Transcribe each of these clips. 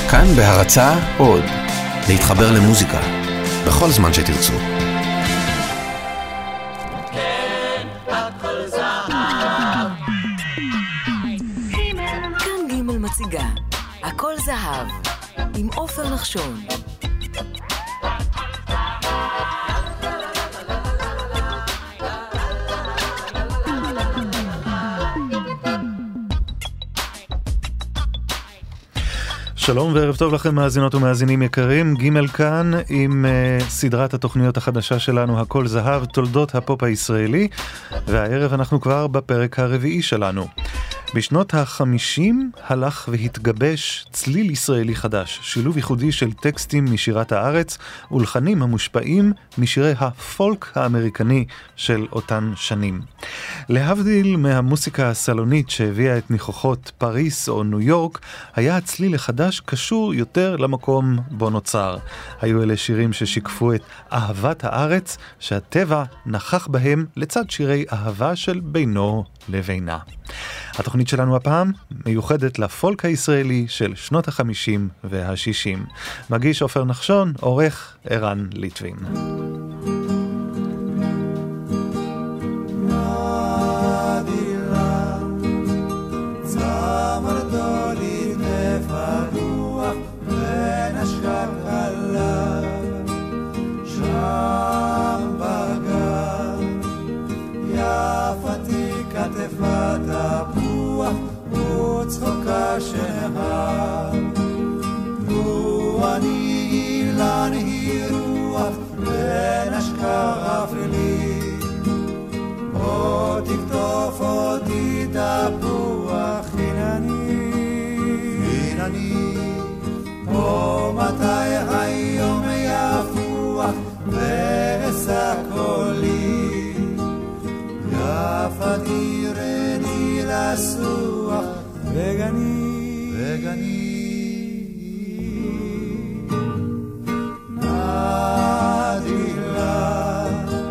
כאן בהרצאה עוד, להתחבר למוזיקה, בכל זמן שתרצו. כאן ג' מציגה, הכל זהב, עם עופר נחשון. שלום וערב טוב לכם מאזינות ומאזינים יקרים, ג' כאן עם סדרת התוכניות החדשה שלנו, הכל זהב, תולדות הפופ הישראלי, והערב אנחנו כבר בפרק הרביעי שלנו. בשנות ה-50 הלך והתגבש צליל ישראלי חדש, שילוב ייחודי של טקסטים משירת הארץ ולחנים המושפעים משירי הפולק האמריקני של אותן שנים. להבדיל מהמוסיקה הסלונית שהביאה את ניחוחות פריס או ניו יורק, היה הצליל החדש קשור יותר למקום בו נוצר. היו אלה שירים ששיקפו את אהבת הארץ שהטבע נכח בהם לצד שירי אהבה של בינו לבינה. התוכנית שלנו הפעם מיוחדת לפולק הישראלי של שנות ה-50 וה-60. מגיש עופר נחשון, עורך ערן ליטבין. צחוקה שנהר לו אני אילן היא רוח בין אשכר אפלי או תקטוף אותי תפוח הנה אני או מתי היום יפוח ועשה קולי יפתי רדי לסוח וגני נדילה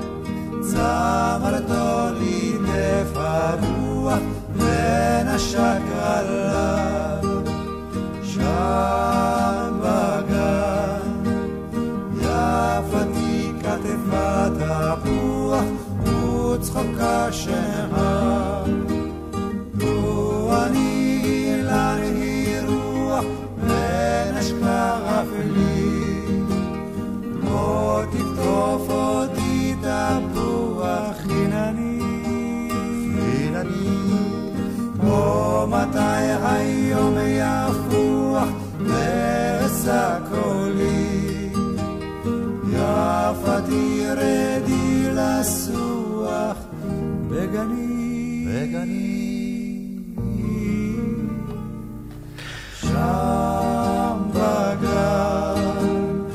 צמרתו לי נפרוח ונשק עליו שם בגן יפתי כתפת הפוח וצחוקה שהר לו אני לא תקטוף אותי תפוח חינני או מתי היום יפוח ועשה קולי יפתי רדי לסוח בגני שם בגן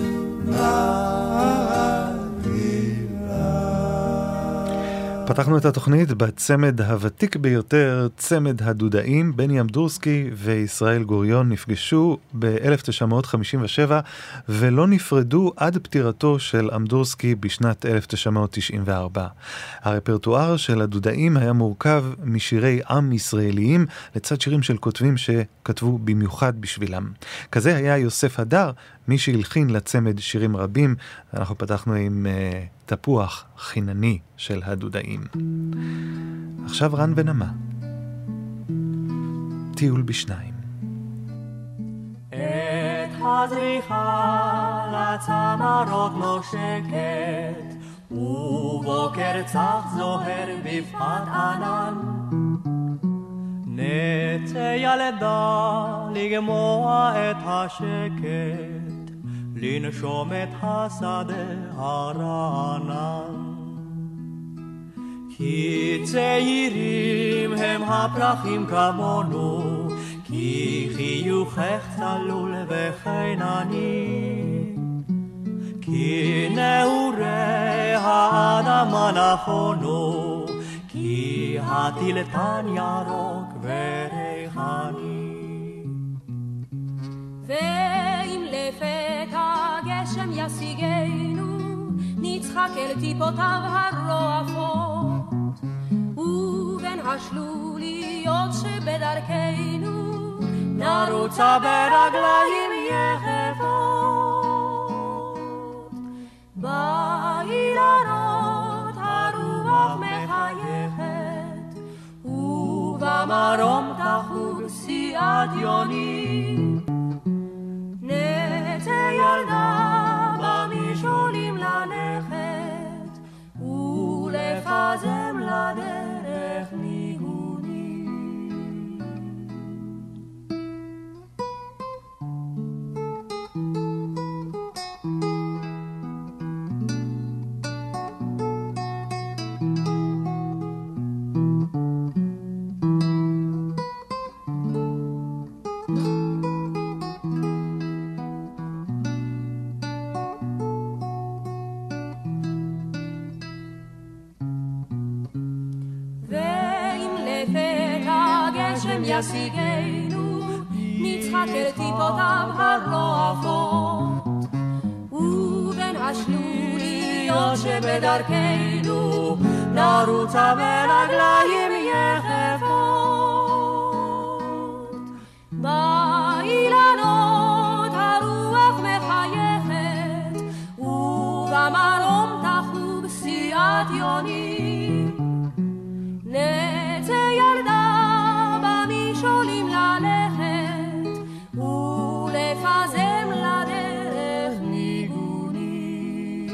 פתחנו את התוכנית בצמד הוותיק ביותר, צמד הדודאים. בני אמדורסקי וישראל גוריון נפגשו ב-1957 ולא נפרדו עד פטירתו של אמדורסקי בשנת 1994. הרפרטואר של הדודאים היה מורכב משירי עם ישראליים לצד שירים של כותבים שכתבו במיוחד בשבילם. כזה היה יוסף הדר, מי שהלחין לצמד שירים רבים. אנחנו פתחנו עם תפוח חינני של הדודאים. עכשיו רן ונמה, טיול בשניים. את הזריחה לצמרות נושקת ובוקר צח זוהר בפחת ענן נצא ילדה לגמוע את השקט לנשום את השדה הרענן כי צעירים הם הפרחים כמונו כי חיוכך צלול וחינני כי נעורי האדמה נכונו כי הטילטן ירוק וריחני ואם לפתע גשם ישיגנו נצחק אל טיפותיו הרועפות ובין השלוליות שבדרכנו נרוצה ברגליים יחפות. באילנות הרוח מחייכת, ובמרום תחוג סיעת יוני. נצא ילדה במשעולים ללכת, ולפזם לדרך ניגוני. ישיגנו, נצחק אל טיפותיו הרועפות, ובין השלוליות שבדרכנו נרוצה ברגליים יחפות. באילנות הרוח מחייכת, ובמרום תחוג סיעת יוני. נצא ילדה שולים ללכת, ולפזם לדרך ניגוני.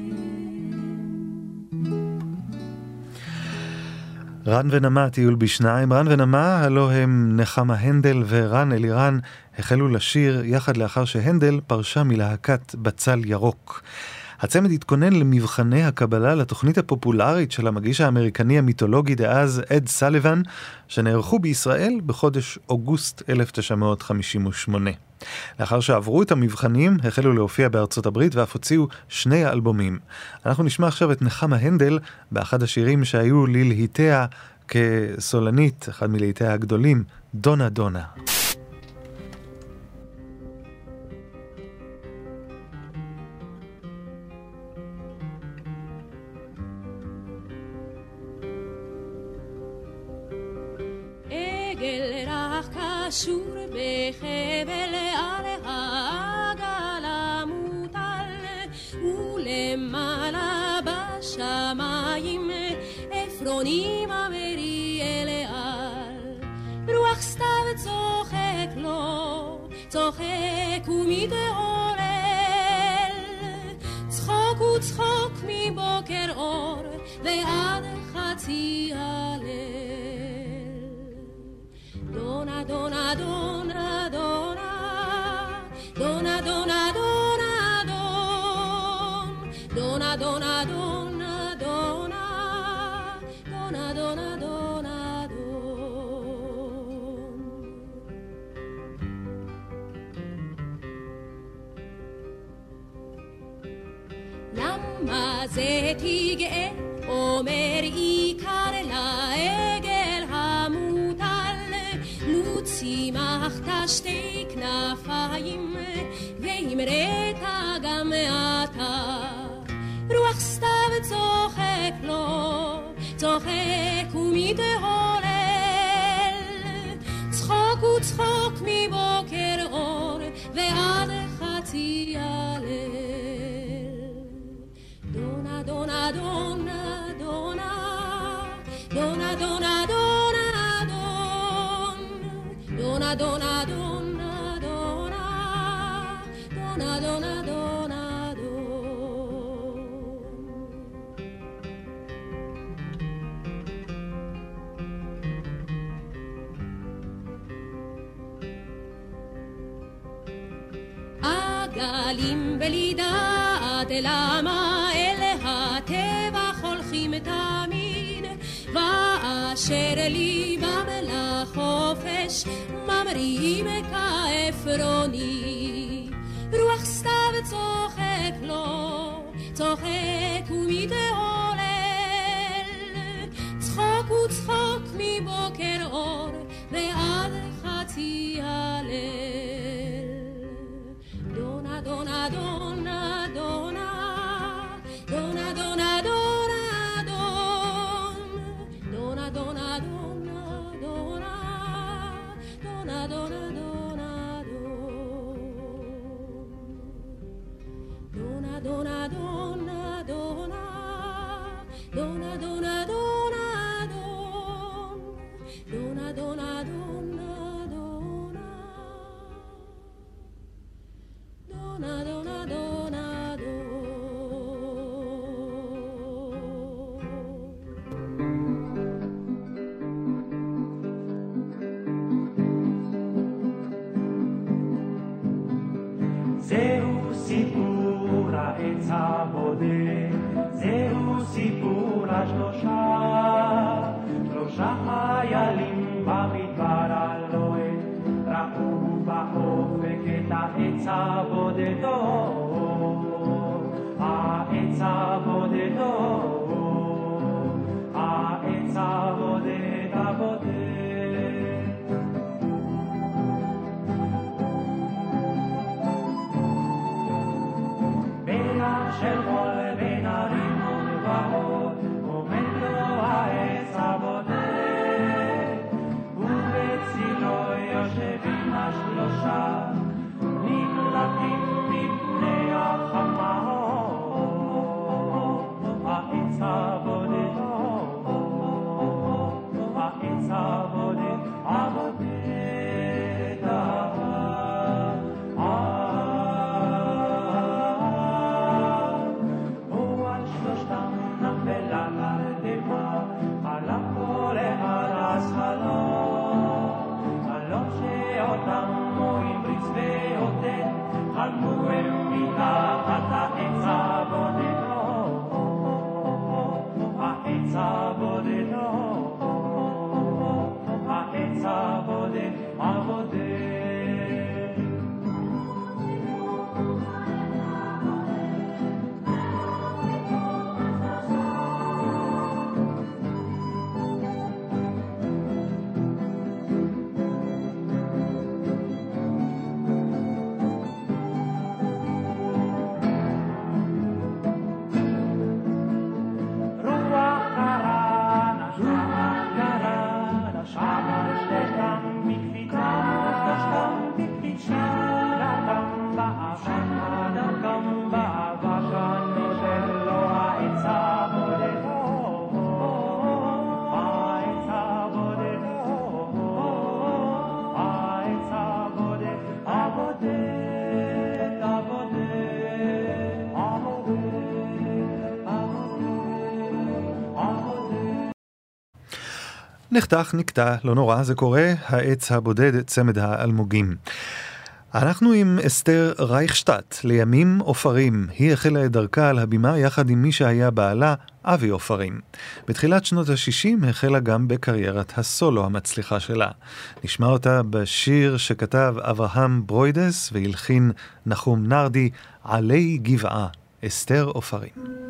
רן ונמה טיול בשניים. רן ונמה, הלא הם נחמה הנדל ורן אלירן, החלו לשיר יחד לאחר שהנדל פרשה מלהקת בצל ירוק. הצמד התכונן למבחני הקבלה לתוכנית הפופולרית של המגיש האמריקני המיתולוגי דאז אד סליבן, שנערכו בישראל בחודש אוגוסט 1958. לאחר שעברו את המבחנים, החלו להופיע בארצות הברית ואף הוציאו 2 אלבומים. אנחנו נשמע עכשיו את נחמה הנדל באחד השירים שהיו ללהיטיה כסולנית, אחד מלהיטיה הגדולים, דונה דונה. קשור בחבל על העגל המוטל, ולמעלה בשמיים עפרונים המריאל על. רוח סתיו צוחק לו, צוחק ומתעורר, צחוק וצחוק מבוקר אור ועד חצי הליל. Dona, dona, dona, dona, dona, dona, dona, dona, dona, dona, dona, dona, dona, dona, dona, למה זה תגאה אומר עיקר לעגל המוטל, צמחת 2 כנפיים ואמרת גם אתה. רוח סתיו צוחק לו, צוחק ומתהולל, צחוק וצחוק מבוקר אור ועד חצי הליל. דונה דונה דונה דונה דונה דונה דונה Dona, dona, dona, dona, dona, dona, dona, עגלים בלי דעת למה אל הטבח הולכים תמיד, ואשר ליבם לחופש ממריאים כעפרוני. רוח סתיו צוחק לו, צוחק ומתהולל, צחוק וצחוק מבוקר אור ועד חצי הליל. דונה דונה דונה דונה דונה דונה דונה דונה דונה דונה דונה דונה דונה דונה זהו סיפור העץ הבודד, זהו סיפור השלושה, שלושה חיילים במדבר הלוהט, ראו באופק את העץ הבודדו, העץ הבודדו, העץ הבודד הבודד. של חול בין הרים ולבאות, עומד לו העץ הבודד, ובצילו יושבים השלושה, נמלטים מפני החמות. העץ הבודד, העץ הבודד, הבודד. נחתך, נקטע, לא נורא, זה קורה, העץ הבודד, צמד האלמוגים. אנחנו עם אסתר רייכשטט, לימים אופרים. היא החלה את דרכה על הבימה יחד עם מי שהיה בעלה, אבי אופרים. בתחילת שנות ה-60 החלה גם בקריירת הסולו המצליחה שלה. נשמע אותה בשיר שכתב אברהם ברוידס והלחין נחום נרדי, עלי גבעה, אסתר אופרים.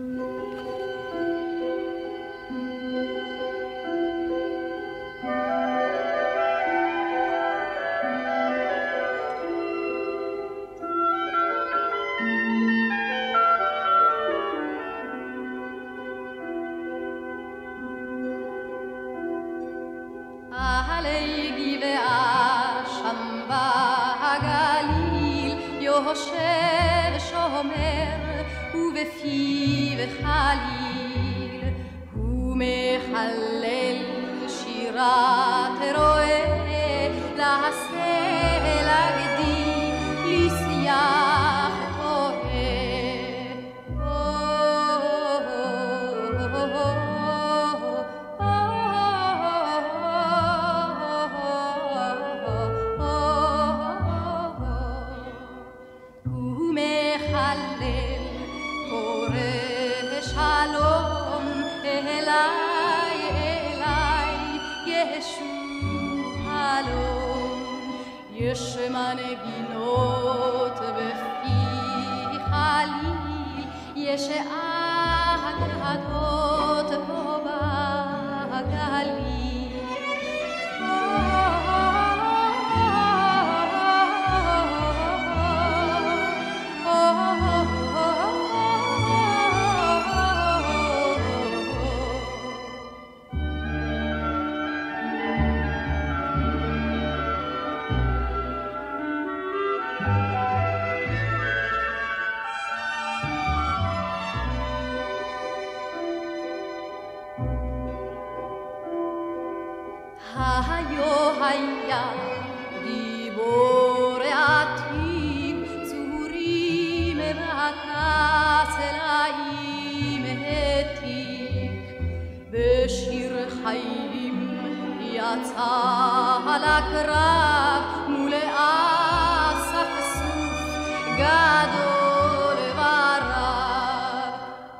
יושב שומר ובפיו חליל הוא מחלל שירת רועה לעשה לגדי לשיח יש מנגינות בפי חליל, יש אגדות פה בגליל. יצא לקרב מול אספסוף גדול ורב.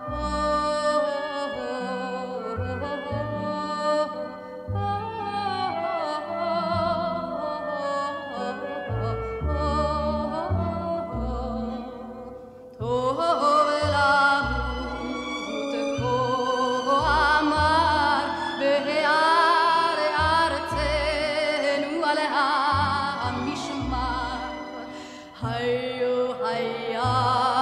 טוב למות כה אמר בהר ארצנו על המשמר. היו היה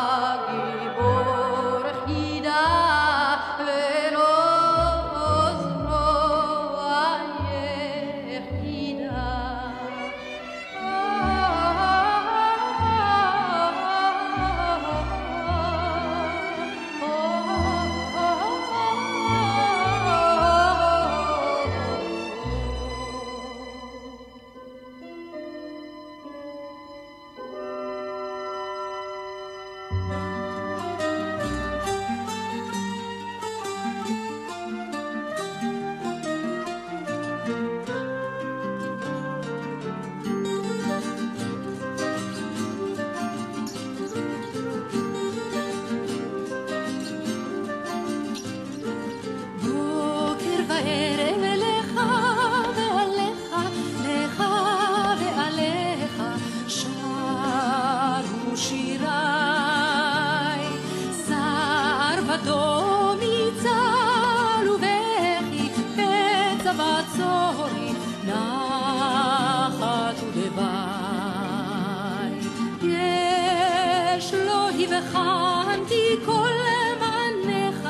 גיבור חידה ולא זרוע יחידה. בוקר וערב לך ועליך, לך ועליך, שרו שיריי. סער ודום יצל ובכי בצבא צורי, נחת ודווי. יש לו הבחנתי כל מניך,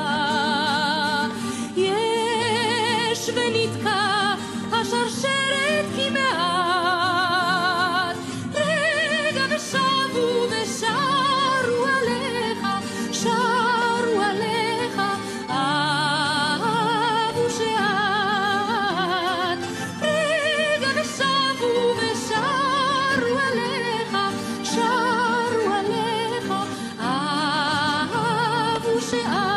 יש ונתקע השרשרת כמעט. רגע ושבו ושרו עליך, שרו עליך, אהבו שאת. רגע ושבו ושרו עליך, שרו עליך, אהבו שאת.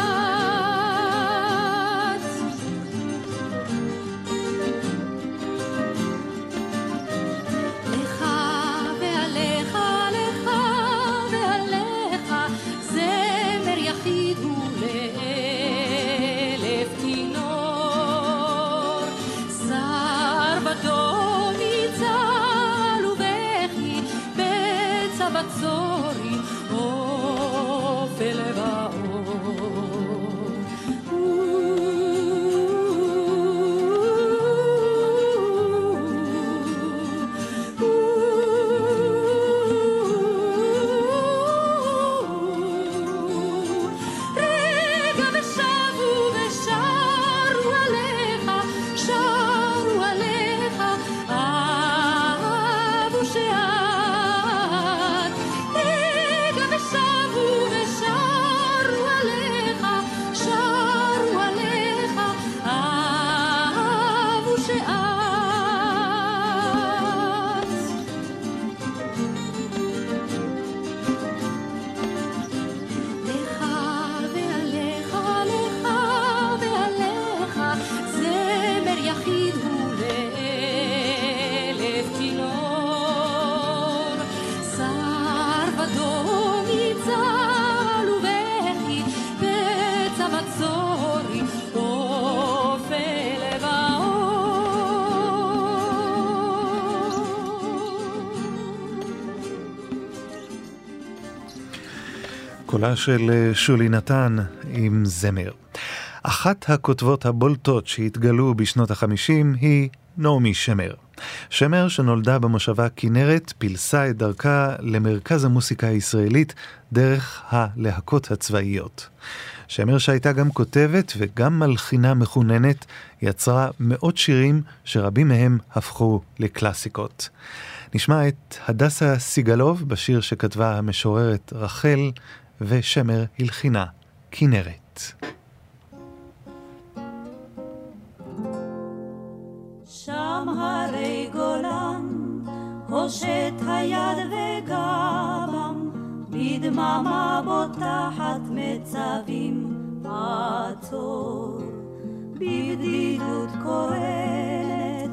לך ועליך, לך ועליך, זמר יחיד הוא לאלף כינור. סער ודום יצל ובכי בצבא צורי, אופל רגע ושבו ושרו עליך, שרו עליך, אהבו שאת. רגע ושבו ושרו עליך, שרו עליך, אהבו שאת. לך ועליך, לך ועליך, זמר יחיד הוא לאלף כינור. סער ודום יצל ובכי בצבא צורי, אופל קולה של שולי נתן עם זמר. אחת הכותבות הבולטות שהתגלו בשנות ה-50 היא נעמי שמר. שמר, שנולדה במושבה כנרת, פילסה את דרכה למרכז המוסיקה הישראלית דרך הלהקות הצבאיות. שמר, שהייתה גם כותבת וגם מלחינה מחוננת, יצרה מאות שירים שרבים מהם הפכו לקלאסיקות. נשמע את הדסה סיגלוב בשיר שכתבה המשוררת רחל, ושמר הלחינה כנרת. שם הרי גולן, הושט היד וגבם, בדממה בוטחת מצבים עצור, בבדידות קורנת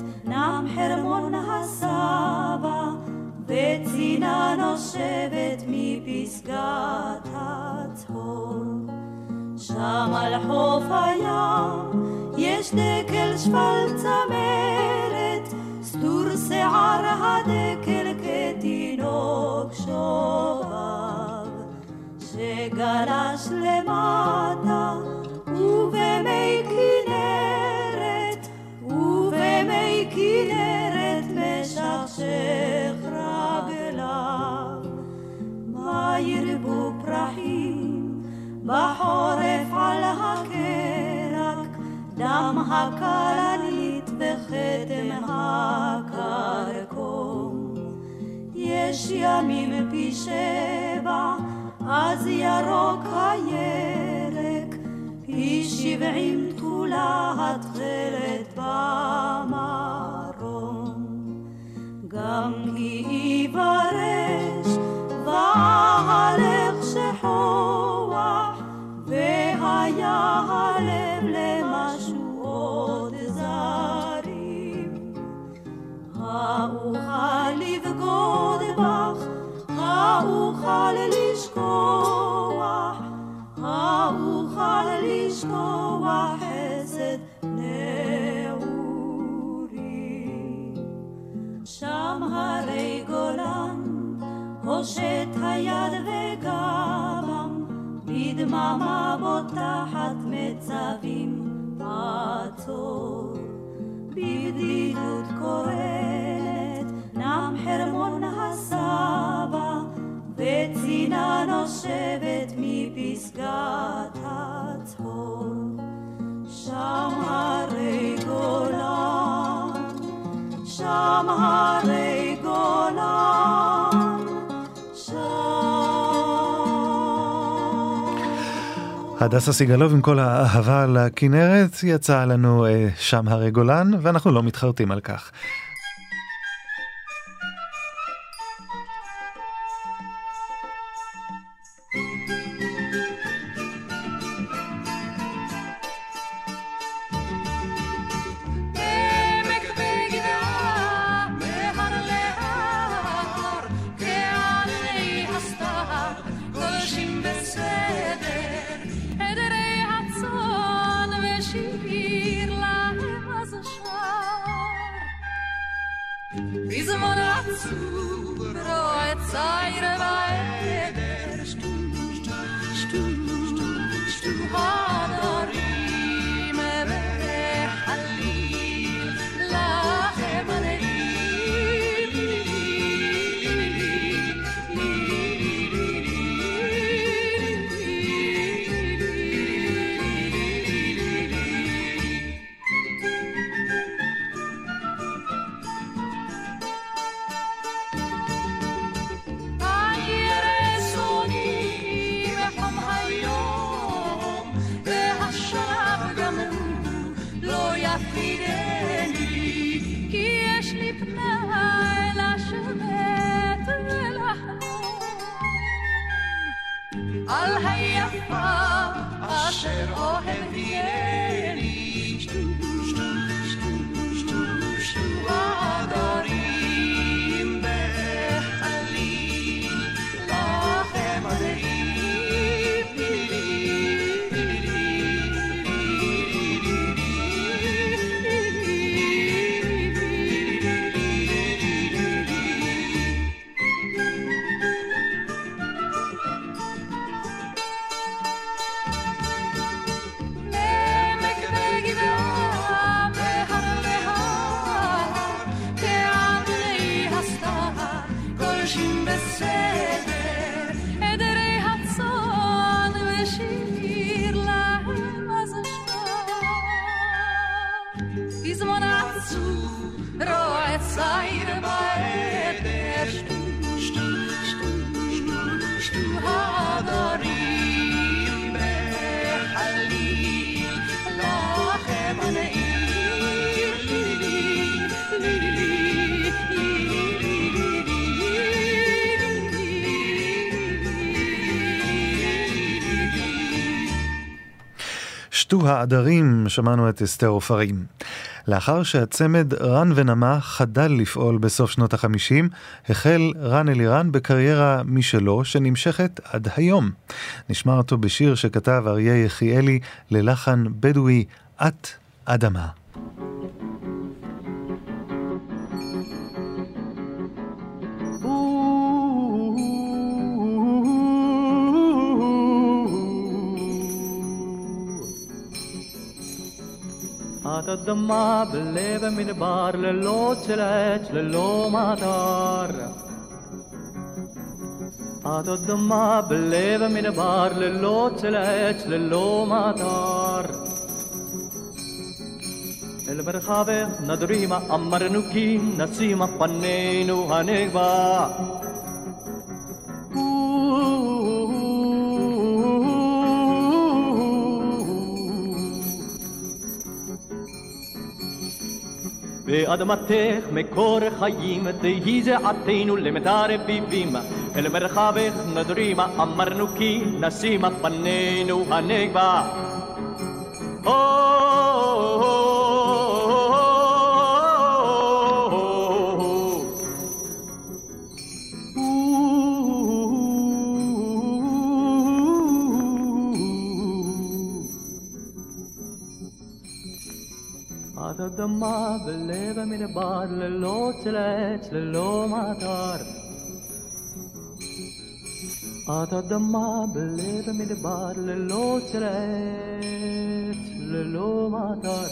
נם חרמון הסבא, וצינה נושבת מפסגת הצהוב. שם על חוף הים יש דקל שפל צמרת, סתור שיער הדקל כתינוק שובב, שגלש למטה ובמי כנרת, ובמי כנרת משכשך רגליו. מה ירבו פרחים בחורף על הקרק, דם הכלנית וכתם הקרקום. יש ימים פי 7 אז ירוק הירק, פי 70 תכולה התכלת במרום. גם כי יברש והלך שחוח, והיה הלב למשהו עוד זרים. האוכל לבגוד בך, האוכל לשכוח, האוכל לשכוח חסד נעורים. שם הרי גולן הושט היד וגבם, בדממה בוטחת מצבים עצור. בבדידות קורנת נם חרמון הסבא, וצינה נושבת מפסגת הצהוב. שם הרי גולן, שם הרי גולן, הדסה סיגלוב עם כל האהבה לכנרת, יצא לנו שם הרי גולן, ואנחנו לא מתחרטים על כך. שתו העדרים, שמענו את אסתר עופרים. לאחר שהצמד רן ונמה חדל לפעול בסוף שנות ה-50, החל רן אלירן בקריירה משלו שנמשכת עד היום. נשמע אותו בשיר שכתב אריה יחיאלי ללחן בדואי, את אדמה. את אדמה בלב המדבר, ללא צלץ, ללא מטר. את אדמה בלב המדבר, ללא צלץ, ללא מטר. אל מרחבך נדרימה, אמרנו כי נשימה פנינו הנגבה. באדמתך מקור חיים, תהי זעתנו למדר רביבים. אל מרחבך נדרימה, אמרנו כי נשימה פנינו הנגבה. את אדמה בלב המדבר, ללא צלץ, ללא מטר. את אדמה בלב המדבר, ללא צלץ, ללא מטר.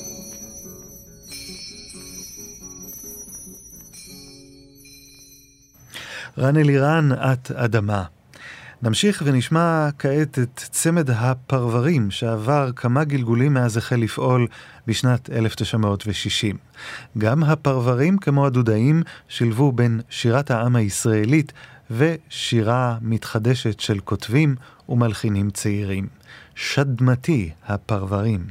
רן אלירן, את אדמה. נמשיך ונשמע כעת את צמד הפרברים שעבר כמה גלגולים מאז החל לפעול בשנת 1960. גם הפרברים כמו הדודאים שילבו בין שירת העם הישראלית ושירה מתחדשת של כותבים ומלחינים צעירים. שדמתי הפרברים.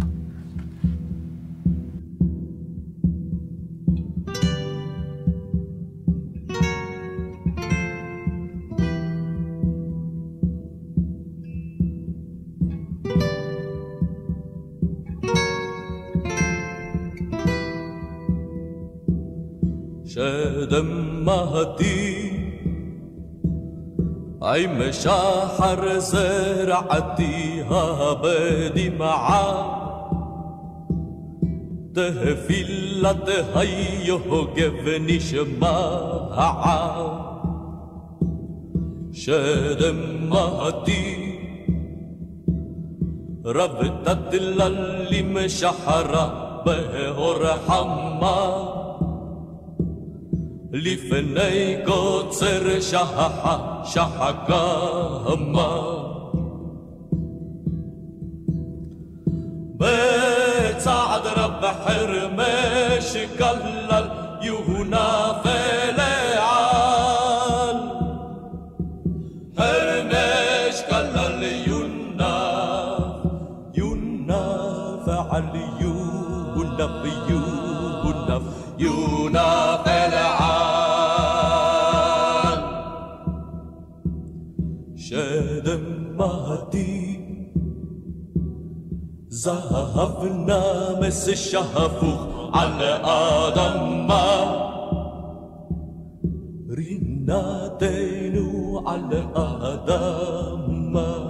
שדמתי עם שחר זרעתי בדמעה תפילת היוגב נשמעה שדמתי רבתה דללים שחרה באור חמה לפני קוצר שחקמה בצעד רב חרמש כלל יונה ולעל חרמש כלל יונה ועל יונה ויונה ולעל שדמתי זהב נמס שפוך על האדמה רינתנו על האדמה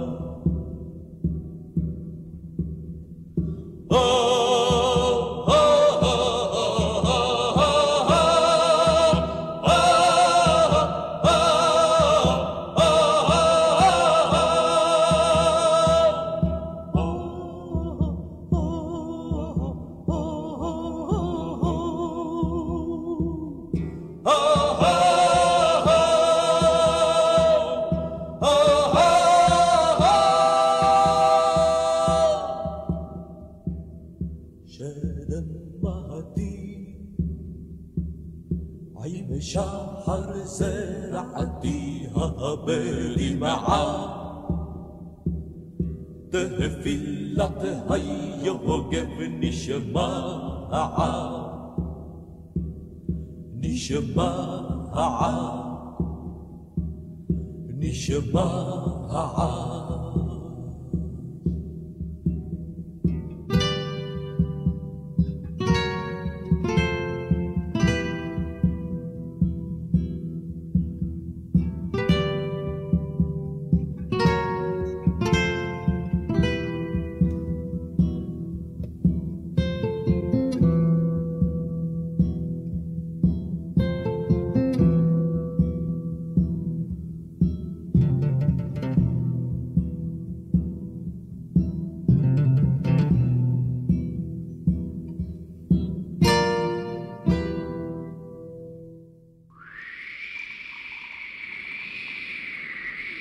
שחר זרעתי בדמעה תפילת היוגב נשמעה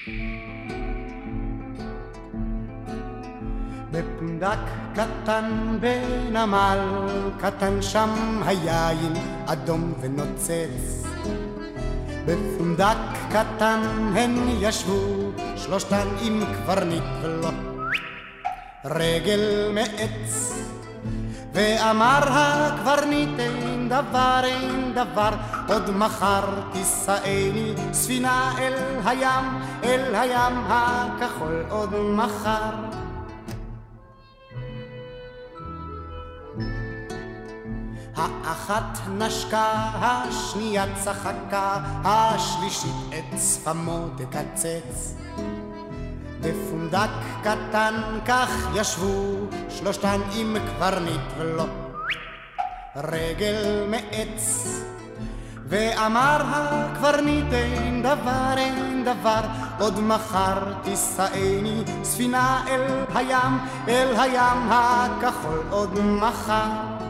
בפונדק קטן בנמל קטן שם היין אדום ונוצץ בפונדק קטן הן ישבו שלושתן עם קברניט ולא רגל מעץ ואמר הקברניט אין דבר עוד מחר תישאני ספינה אל הים הכחול עוד מחר האחת נשקה, השנייה צחקה, השלישית את שפמו תקצץ. בפונדק קטן כך ישבו שלושתן עם קברניט ולא רגל מעץ. ואמר הקברניט אין דבר, עוד מחר תישאני ספינה אל הים הכחול עוד מחר.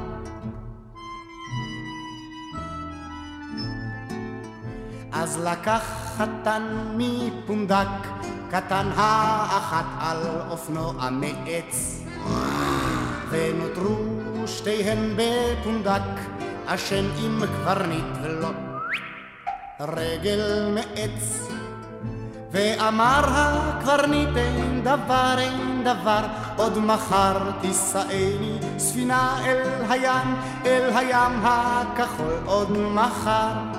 אז לקח חתן מפונדק קטן האחת על אופנוע מעץ ונותרו שתיהן בפונדק אשם עם קברניט ולא רגל מעץ. ואמר הקברניט אין דבר, עוד מחר תישאני ספינה אל הים הכחול עוד מחר.